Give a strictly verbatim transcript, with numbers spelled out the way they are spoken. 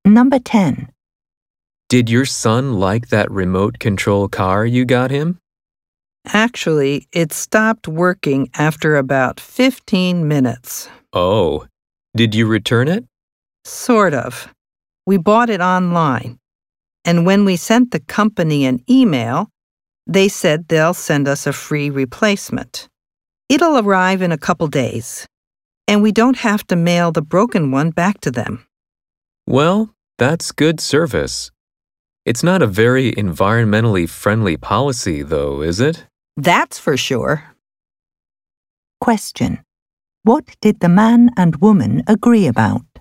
Number ten. Did your son like that remote control car you got him? Actually, it stopped working after about fifteen minutes. Oh, did you return it? Sort of. We bought it online. And when we sent the company an email, they said they'll send us a free replacement. It'll arrive in a couple days, and we don't have to mail the broken one back to them. Well, that's good service. It's not a very environmentally friendly policy, though, is it? That's for sure. Question. What did the man and woman agree about?